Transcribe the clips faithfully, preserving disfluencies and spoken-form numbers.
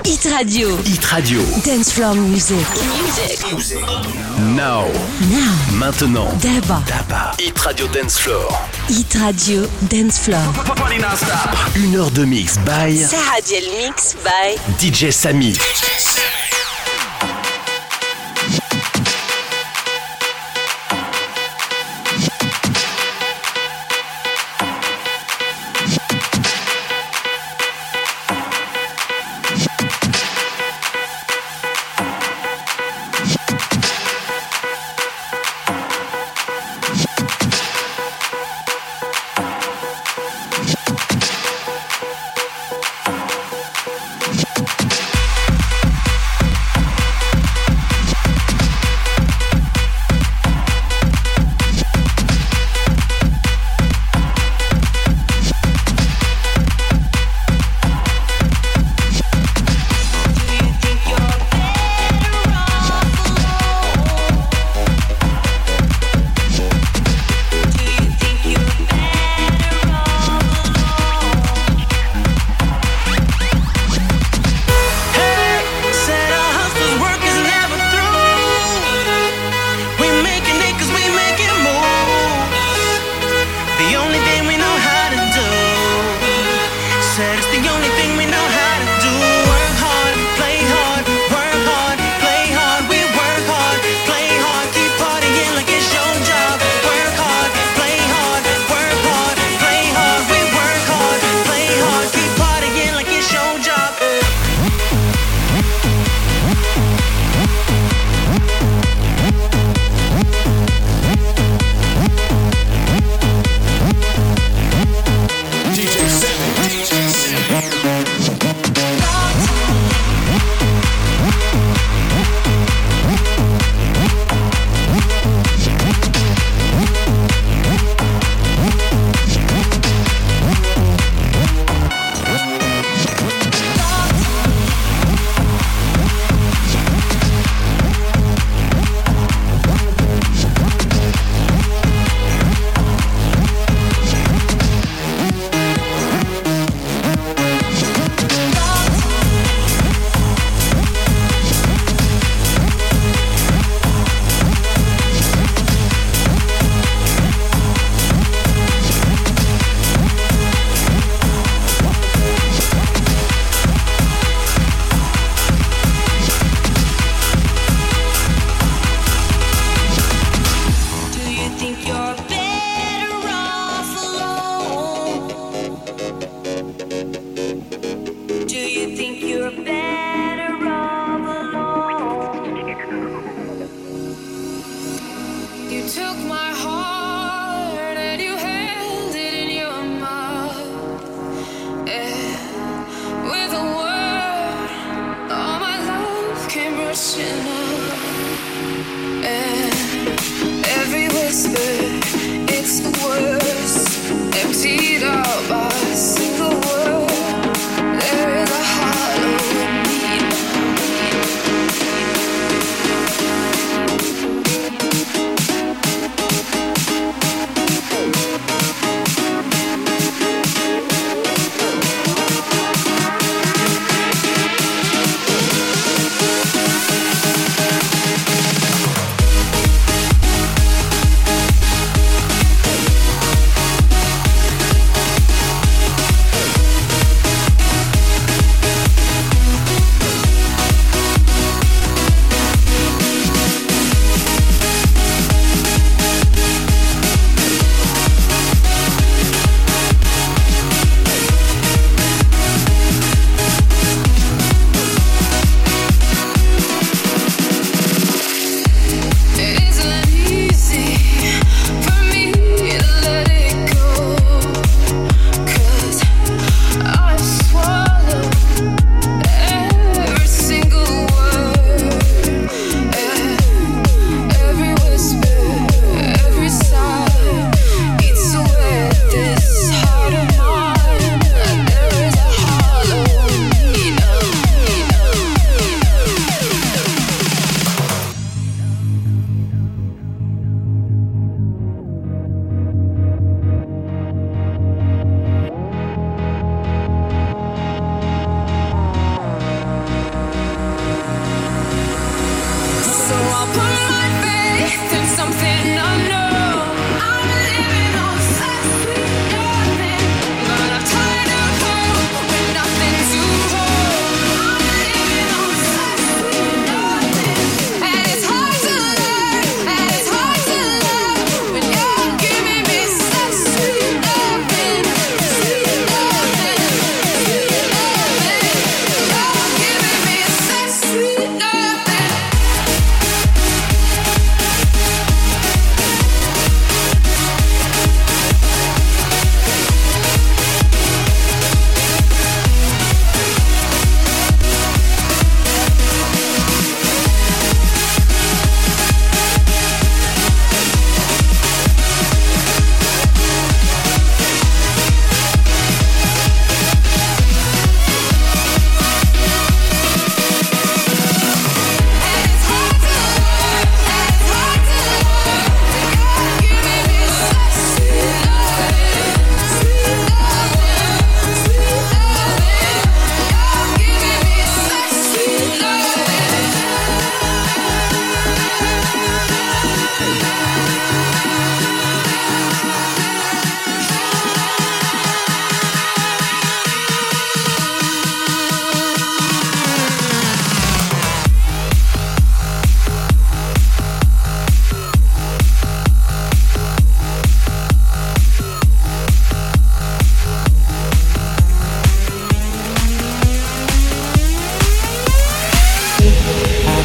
Hit Radio. Hit Radio. Dance Floor Music. Music. Now. Now. Maintenant. D'abord. D'abord. Hit Radio Dance Floor. Hit Radio Dance Floor. Une heure de mix by Sahadiel Mix by D J Samy.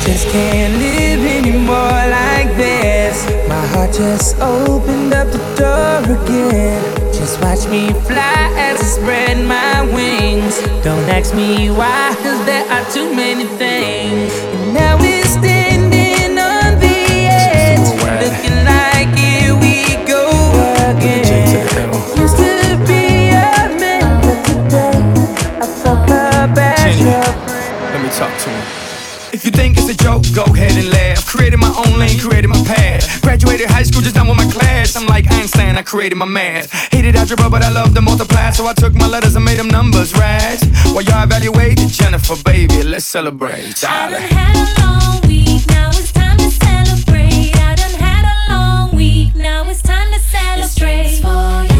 just can't live anymore like this. My heart just opened up the door again. Just watch me fly as I spread my wings. Don't ask me why, cause there are too many things. And now we're standing on the edge, looking like here we go again. Used to be a man, but today I fuck up as your friend. Let me talk to him. If you think it's a joke, go ahead and laugh. Created my own lane, created my path. Graduated high school, just done with my class. I'm like Einstein, I created my math. Hated algebra, but I love to multiply. So I took my letters and made them numbers, right? While y'all evaluated Jennifer, baby, let's celebrate. I done had a long week, now it's time to celebrate. I done had a long week, now it's time to celebrate. It's for you.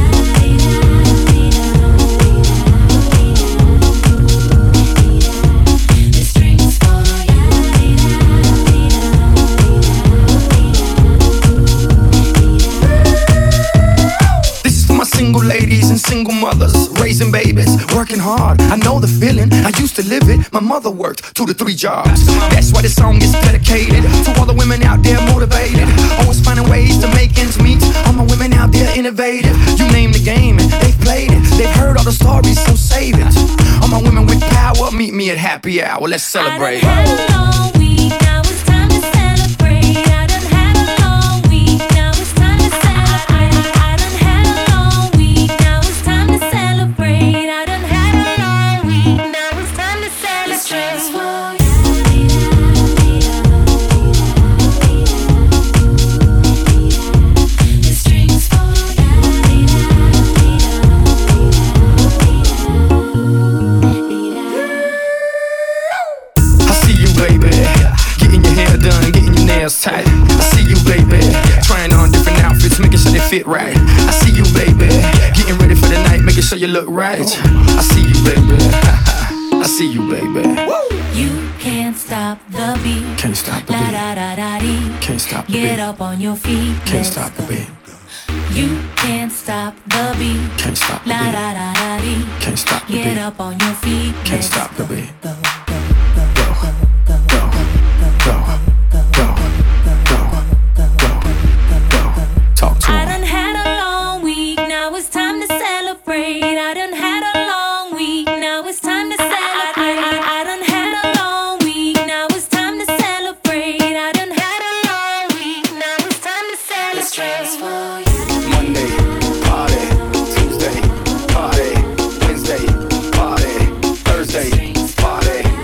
Single ladies and single mothers, raising babies, working hard. I know the feeling, I used to live it. My mother worked two to three jobs. That's why this song is dedicated to all the women out there motivated, always finding ways to make ends meet. All my women out there innovative. You name the game and they've played it. They've heard all the stories, so save it. All my women with power, meet me at happy hour. Let's celebrate. I done had a long week, now it's time to celebrate. I done had a long week, now it's time to celebrate. I done had a long week, now it's time to celebrate. I done had a long week, now it's time to celebrate. The strings fall. Tight. I see you, baby, trying on different outfits, making sure they fit right. I see you, baby, getting ready for the night, making sure you look right. I see you, baby. I see you, baby. You can't stop the beat. Can't stop the La beat. da da da dee. Can't stop the Get beat. up on your feet. Can't Let's stop the go. beat. You can't stop the beat. Can't stop the La beat. da da da dee. Can't stop the Get beat. up on your feet. Can't Let's stop the beat. Go, Go, go, go, go, go, go, go. Talk to I him. done had a long week, now it's time to celebrate. I done had a long week, now it's time to celebrate. I done had a long week, now it's time to celebrate. I done had a long week, now it's time to celebrate. Monday, party. Tuesday, party. Wednesday, party. Thursday, party.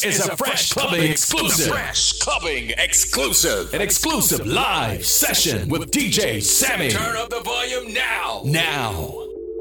is a Fresh Clubbing exclusive. Fresh Clubbing exclusive. An exclusive live session with D J Sammy. Turn up the volume now. Now.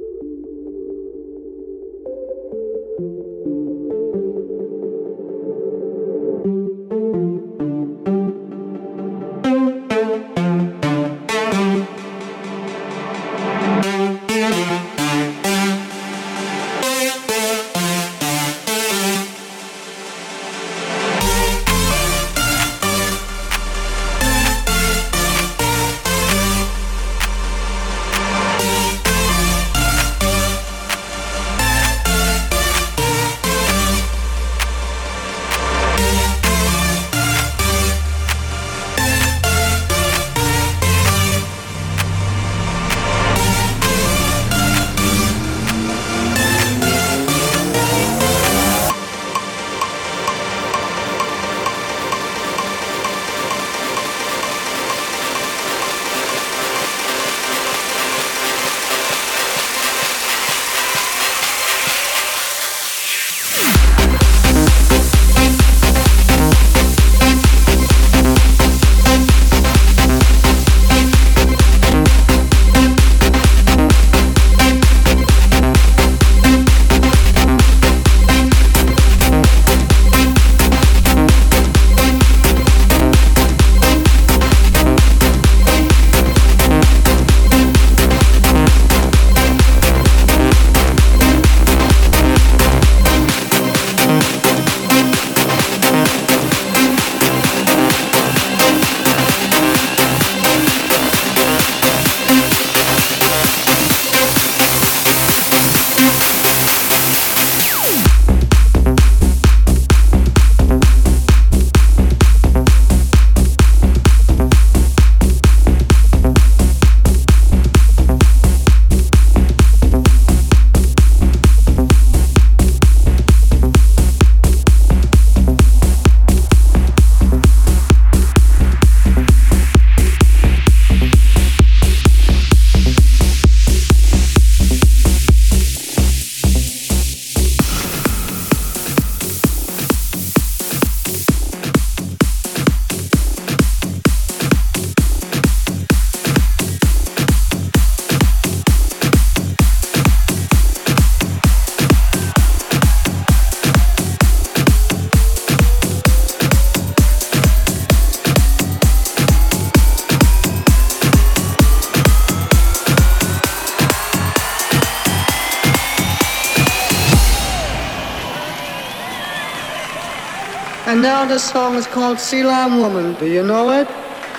And now this song is called Sea Lion Woman. Do you know it?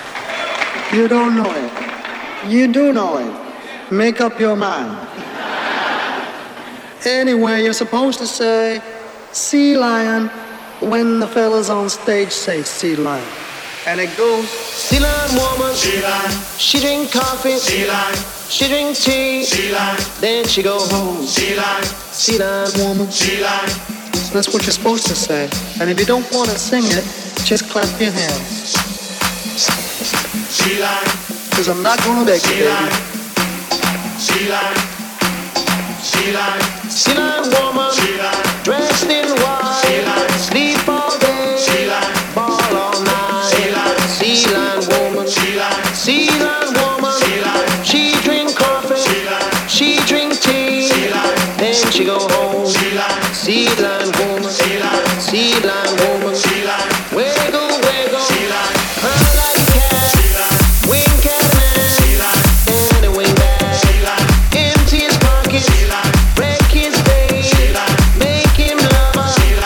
You don't know it. You do know it. Make up your mind. Anyway, you're supposed to say Sea Lion when the fellas on stage say Sea Lion. And it goes, Sea Lion Woman, Sea Lion. She drink coffee, Sea Lion. She drink tea, Sea Lion. Then she go home, Sea Lion. Sea Lion Woman, Sea Lion. So that's what you're supposed to say. And if you don't want to sing it, just clap your hands. Sea Lion. Because I'm not going to beg you, baby. Sea Lion. Sea Lion. Sea Lion Woman, Sea Lion. Dressed in white, Sea Lion. Sleep all day, Sea Lion. Ball all night, Sea Lion. Sea Lion Woman, Sea Lion. Sea Lion Woman, Sea Lion. She drink coffee, Sea Lion. She drink tea, Sea Lion. Then she go home, Sea Lion. Sea Lion Woman, Sea Lion. Sea Lion Woman, Sea Lion. Wiggle, wiggle, Sea Lion. Her like a cat, Sea Lion. Wink at a man, Sea Lion. And a wing back, Sea Lion. Empty his pockets, Sea Lion. Break his face, Sea Lion. Make him love her, Sea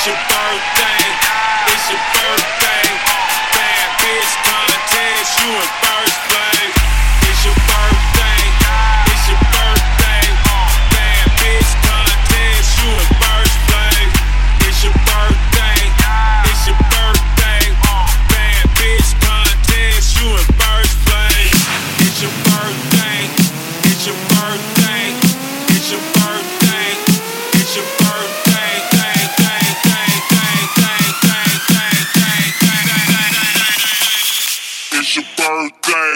It's your birthday. It's your birthday. Bad bitch contest. You in first place. It's your birthday. It's your birthday. Bad bitch contest. You in first place. It's your birthday. It's your birthday. Bad bitch contest. You in first place. It's your birthday. It's your birthday. It's your birthday. It's your birthday. Dang, dang, dang, dang, dang, dang, dang, dang, dang, dang. It's your birthday.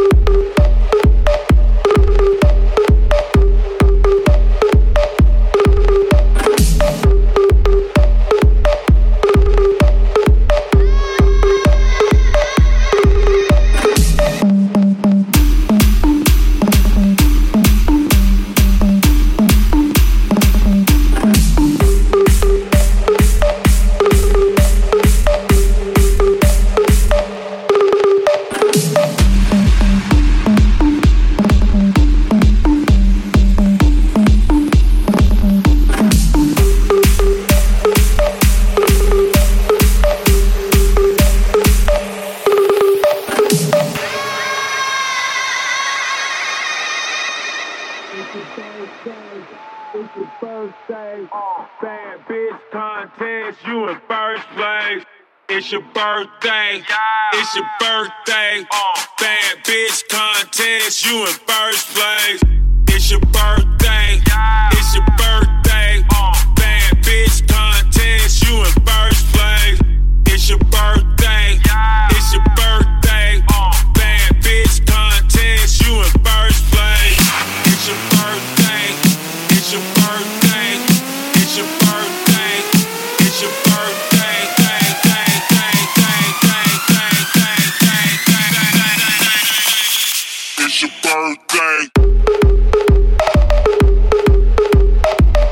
Bad bitch contest, you in first place. It's your birthday. It's your birthday. Bad bitch contest, you in first place. It's your birthday. It's your birthday. Bad bitch contest, you in first place. It's your birthday. It's your birthday. Bad bitch contest, you in first place. It's your birthday. It's your birthday. It's your birthday. It's your birthday. Dang, dang, dang, dang, dang, dang, dang, dang, dang, dang, dang. It's your birthday.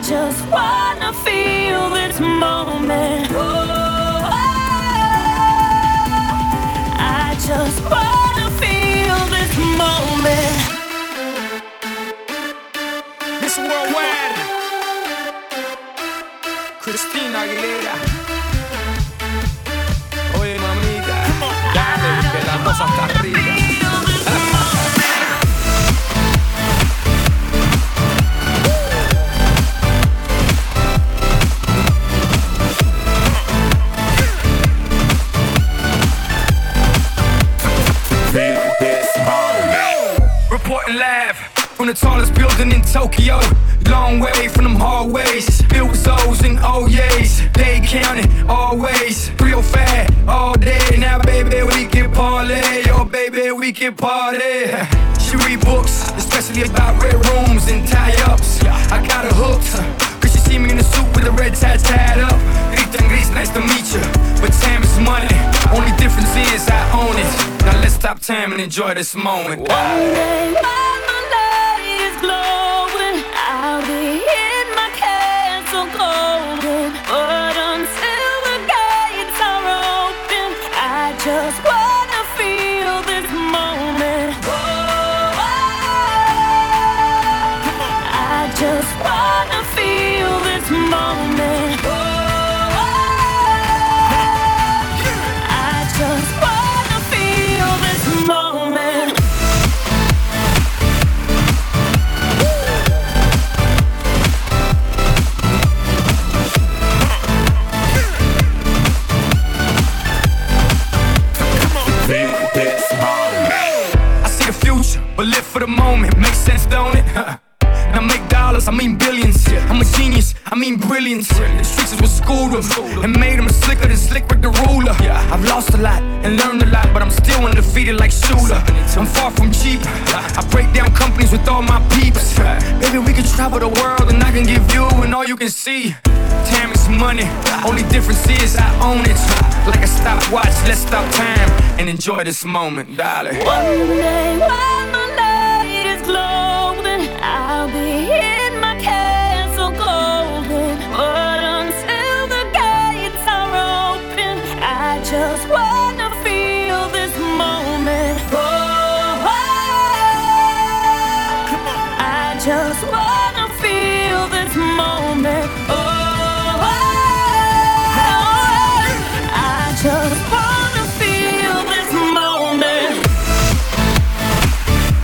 just wanna feel this moment. Oh, I just wanna feel this moment. Miss Worldwide, Christina Aguilera. Oye, mamita, dale, que la cosa está arriba. Reporting live from the tallest building in Tokyo. Long way from them hallways, filled with O's and O's. They counting always, real fat all day. Now baby we can parlay, oh baby we can party. She read books, especially about red rooms and tie-ups. I got her hooked, cause she see me in a suit with the red tie tied up. Rita and Gris, nice to meet you, but time is money. Only difference is I own it. Now let's stop time and enjoy this moment. One day while my light is glowing, I'll be in my castle golden. But until the gates are open, I just wanna feel this moment. Oh, I just wanna feel this moment. Oh, I just wanna feel this moment. I see the future, but live for the moment. Makes sense, don't it? Now make dollars, I mean billions. I'm a genius, I mean brilliance. The streets is what schooled them and made them slicker than Slick with the ruler. I've lost a lot and learned a lot, but I'm still undefeated like Shula. I'm far from cheap. I break down companies with all my peeps. Baby, we can travel the world and I can give you and all you can see. Time is money, only difference is I own it. Like a stopwatch, let's stop time and enjoy this moment, darling. One day while my light is glowing, I'll be in my castle golden. But until the gates are open, I just wanna feel this moment. Oh, I just wanna feel this moment. Oh, I just wanna feel this moment.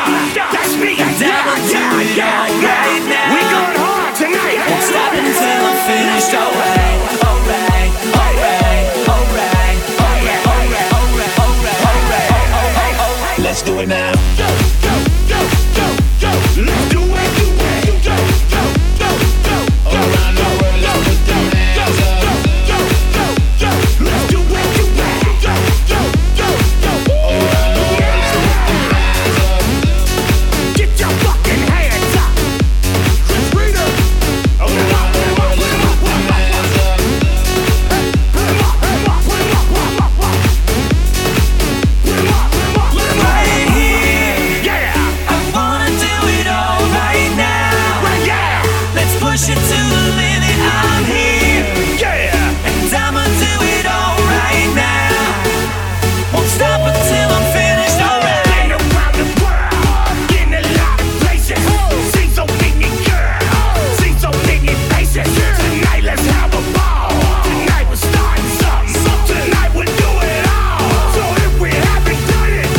That's me. And I'ma do it all right now. We going hard tonight. Won't stop until I'm finished. Alright, alright, alright, alright, alright, alright, alright, alright, alright, alright. Let's do it now. Go, go, go, go, go. Let's do it, do it. Go, go, go, go, go. Around the world, let's put them hands up. Go, go, go, go. Let's do it, do it. Go, go, go, go. Around the world, let's put them hands up. Get your fucking hands up. Chris Rita. Around the world, let's put them hands up. Put 'em up, put 'em up, put 'em up, put 'em up, put 'em up. Put 'em up, put 'em up, put 'em up. Right here. Yeah. I wanna do it all right now. Right, yeah. Let's push it to the limit. I'm here. Yeah. And I'ma do it all right now. Won't stop until I'm finished. Alright. Been around the world, in a lot of places. Seen so many girls, seen so many faces. Tonight let's have a ball. Tonight we're starting something. Tonight we'll do it all. So if we haven't done it,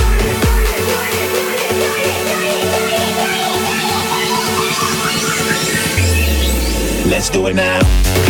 let's do it now.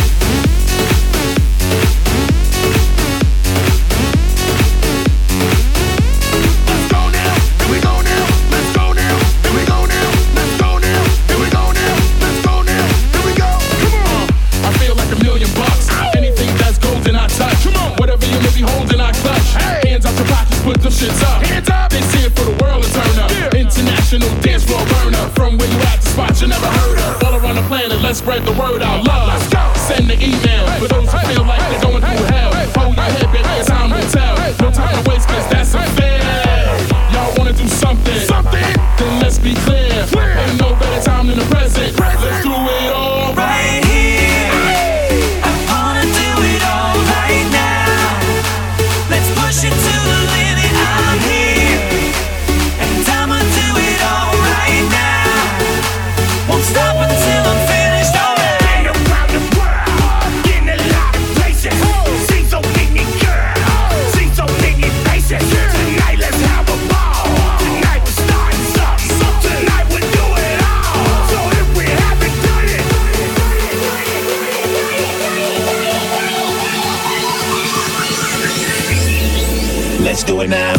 Let's go now. Here we go now. Let's go now. Here we go now. Let's go now. Here we go now. Let's go now. Here we go. Come on. I feel like a million bucks. Anything that's golden, I touch. Come on. Whatever you may be holding, I clutch. Hey. Hands out your pockets, put them shits up. Hands up. They see it for the world to turn up. Yeah. International dance floor burner. From where you at, the spot you never heard of. All around the planet, let's spread the word out. Love. Let's go. Send the email for those who feel like they're going through hell. Hold your head, baby, it's time to tell. No time to waste, cause that's unfair. Y'all wanna do something? Something? Then let's be clear. Ain't no better time than the present. Let's do it all Right here. I wanna do it all right now. Let's push it to the limit. I'm here. And I'ma do it all right now. Won't stop until I'm finished. Alright. Been around the world, in a lot of places. Seen so many girls, seen so many faces. Tonight let's have a ball. Tonight we're starting something. Tonight we'll do it all. So if we haven't done it, let's do it now.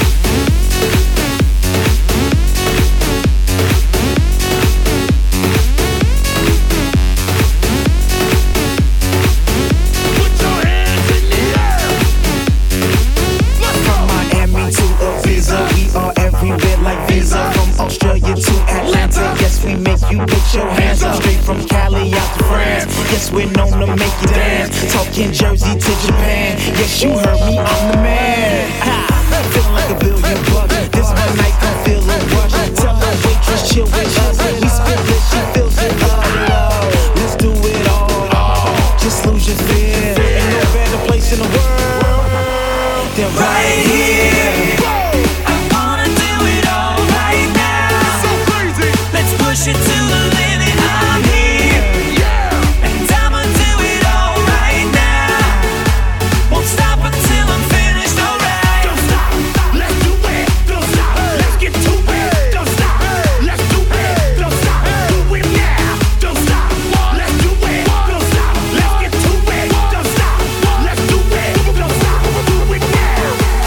Put your hands in the air. Let's go. From Miami to Ibiza, we are everywhere like Visa. From Australia to Atlanta, yes, we make you put your hands up. Straight from Cali out to France, yes, we're known to make you dance. Talking Jersey to Japan, yes, you heard me, I'm the man. Ha, feeling like a billion bucks. This one night, come feel a rush. Tell the waitress, chill with us. We spill it, she feels it. Oh, let's do it all. Just lose your fear. Ain't no better place in the world than right here. I wanna do it all right now. So crazy. Let's push it to the limit. I'm here. Yeah. And I'ma do it all right now. Won't stop until I'm finished. Alright. Don't stop. Let's do it. Don't stop. Let's get to it. Don't stop. Let's do it. Don't stop. Do it now. Don't stop. Let's do it. Don't stop. Let's get to it. Don't stop. Let's do it. Don't stop. Do it now.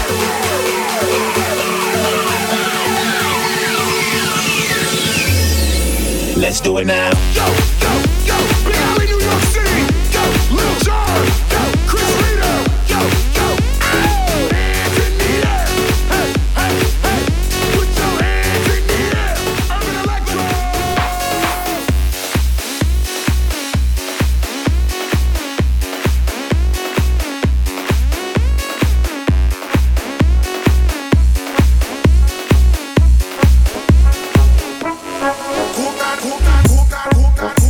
Let's do it now. Go, go, go. Big Alley, New York City. Go, Lil Jon. Go, Chris Rita. Go, go. Hands in the air. Hey, hey, hey. Put your hands in the air. Urban Electro. Coca, coca, coca, coca.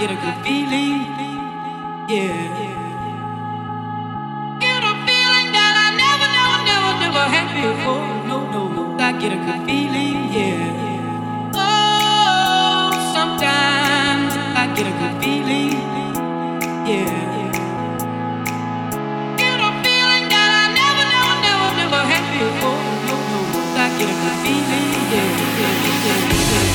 get a good feeling, yeah. Get a feeling that I never, never, never, never had before. No, no, no, I get a good feeling, yeah. Oh, sometimes I get a good feeling, yeah. Get a feeling that I never, never, never, never had before. No, no, no, I get a good feeling, yeah, yeah, yeah, yeah, yeah.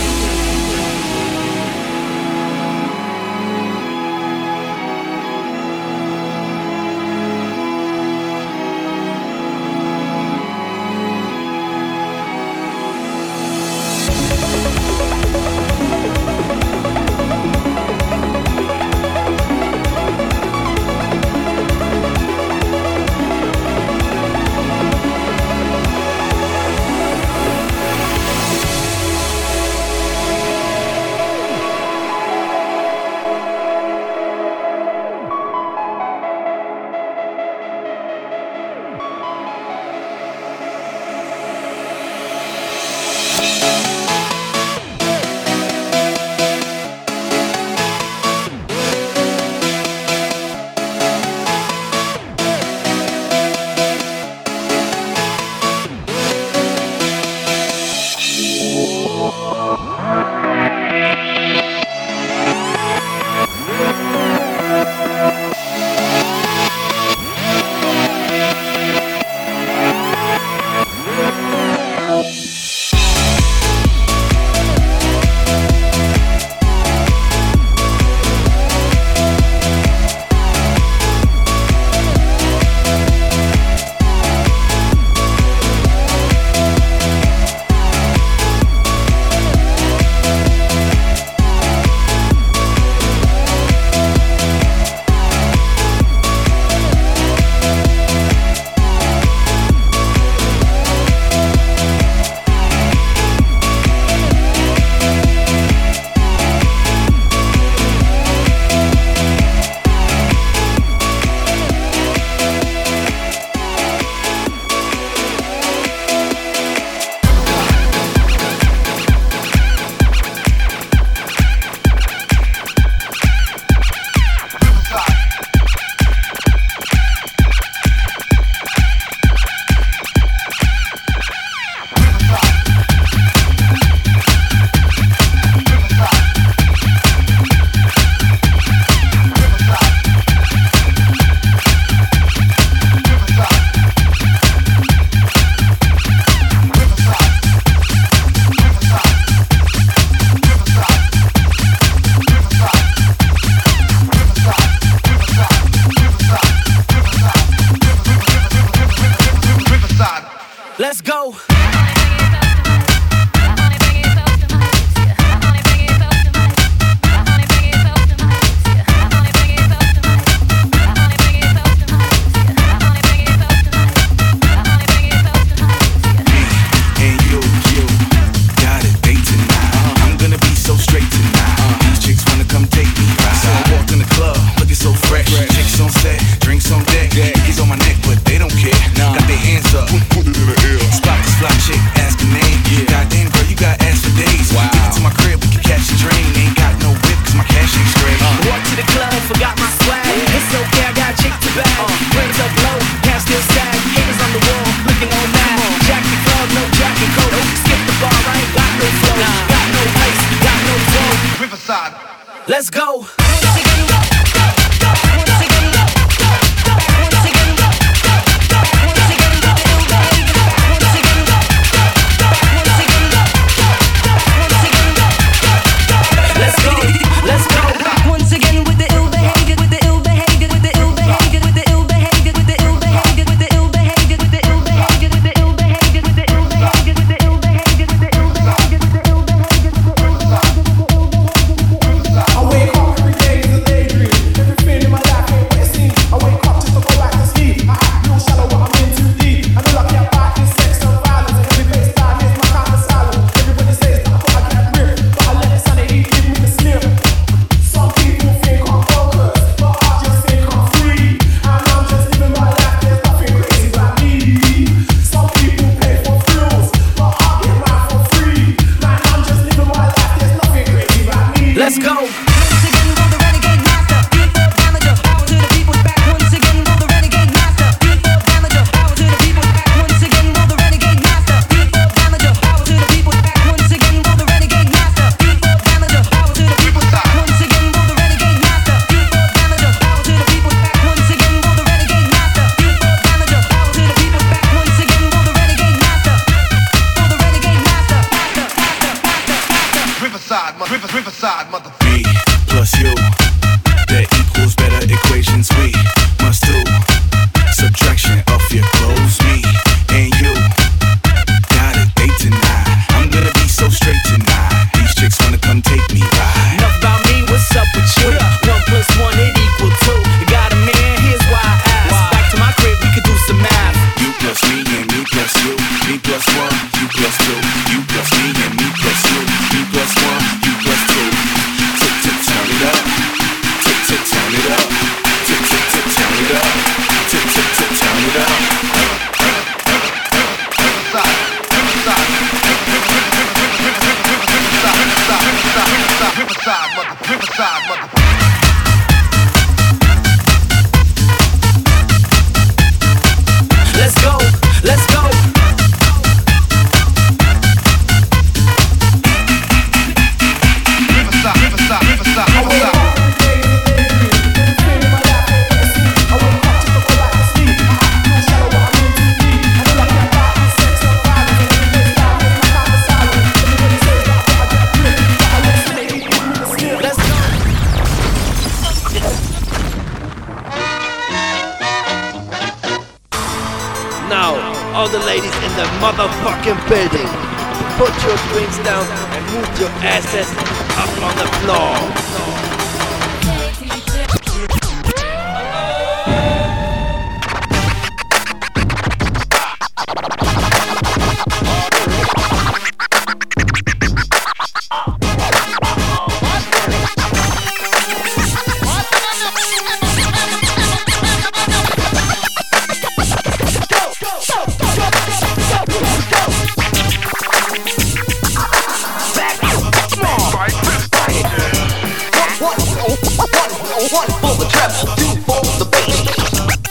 Let's go. Let's go. I wake up every day. Riverside, mother. Me plus you, that equals better equations. We must do subtraction of your clothes. Me and you got a date tonight. I'm gonna be so straight tonight. These chicks wanna come take me ride. Enough about me, what's up with you? One plus one, it equal two. You got a man, here's why I ask. Back to my crib, we could do some math. You plus me and me plus you. Me plus one, you plus two. You plus me and me plus you. Me plus one, you plus two. Tick tick turn it up. Tick tick turn it up. Tick tick tick turn it up. Tick tick tick turn it up. Riverside, mother. Riverside, mother. Let's go, let's go. Riverside, Riverside, Riverside, Riverside. All the ladies in the motherfucking building, put your drinks down and move your asses up on the floor. One for the treble, two for the bass.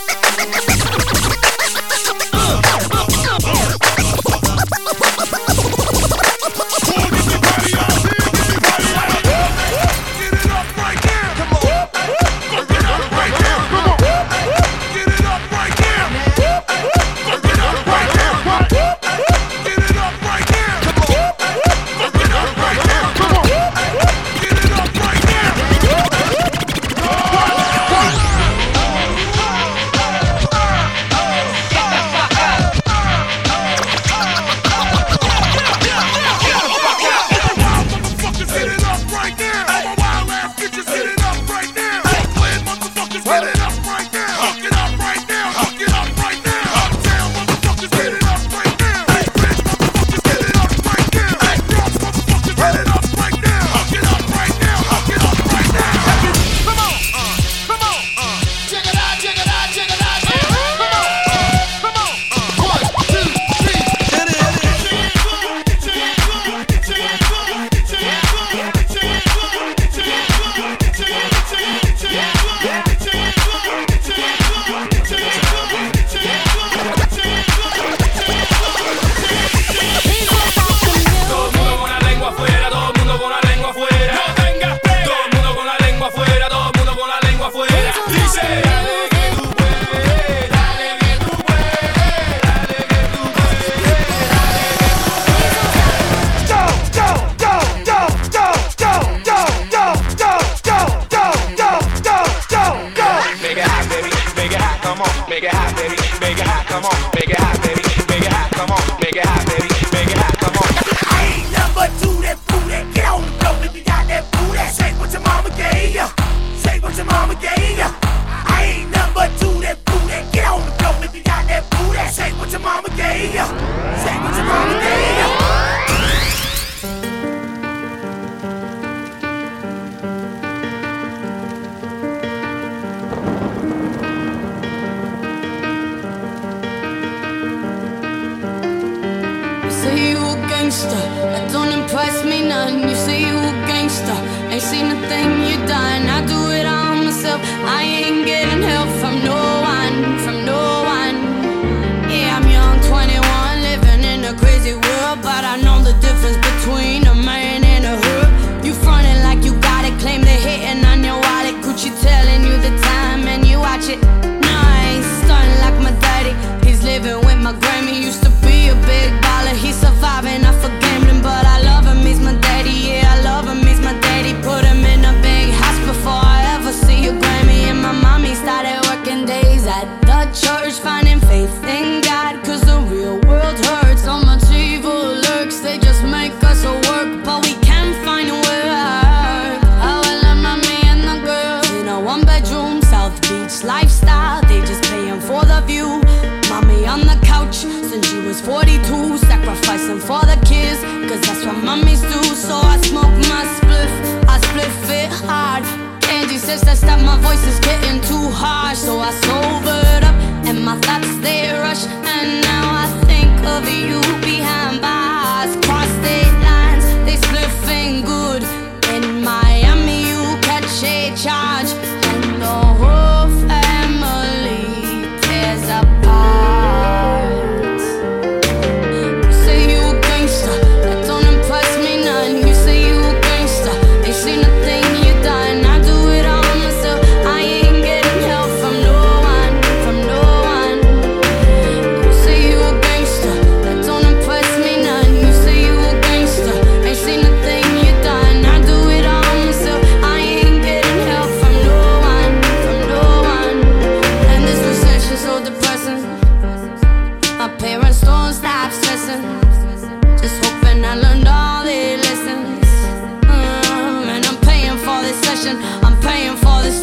That don't impress me none. You say you a gangster, ain't seen a thing you done. I do it all myself. I ain't getting help from no one, from no one. Yeah, I'm young, twenty-one, living in a crazy world, but I know the difference between a man and a hood. You frontin' like you got it, claim they hating on your wallet. Gucci telling you the time and you watch it. No, I ain't stunning like my daddy. He's living with my Grammy. Used to be a big baller. He's surviving off of gambling, but I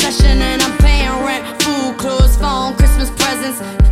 recession and I'm paying rent. Food, clothes, phone, Christmas presents.